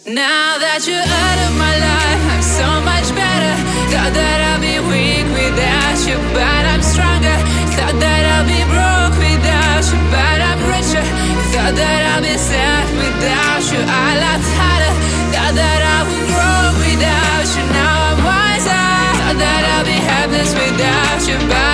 Now that you're out of my life, I'm so much better. Thought that I'll be weak without you, but I'm stronger. Thought that I'll be broke without you, but I'm richer. Thought that I'll be sad without you, I laughed harder. Thought that I would grow without you, now I'm wiser. Thought that I'll be happiness without you, but